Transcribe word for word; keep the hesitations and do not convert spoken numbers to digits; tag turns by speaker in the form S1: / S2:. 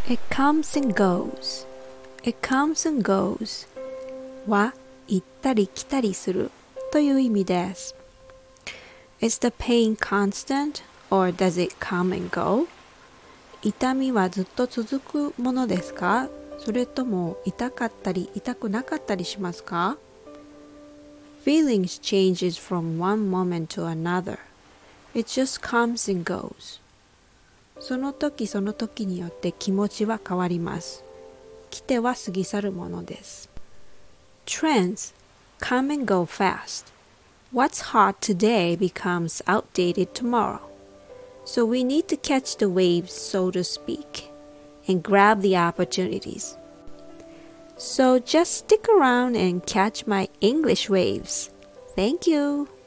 S1: It comes and goes. It comes and goes は行ったり来たりするという意味です。Is the pain constant or does it come and go? 痛みはずっと続くものですか？それとも痛かったり痛くなかったりしますか？ Feelings changes from one moment to another. It just comes and goes. その時その時によって気持ちは変わります。来ては過ぎ去るものです。Trends come and go fast. What's hot today becomes outdated tomorrow. So we need to catch the waves, so to speak, and grab the opportunities. So just stick around and catch my English waves. Thank you.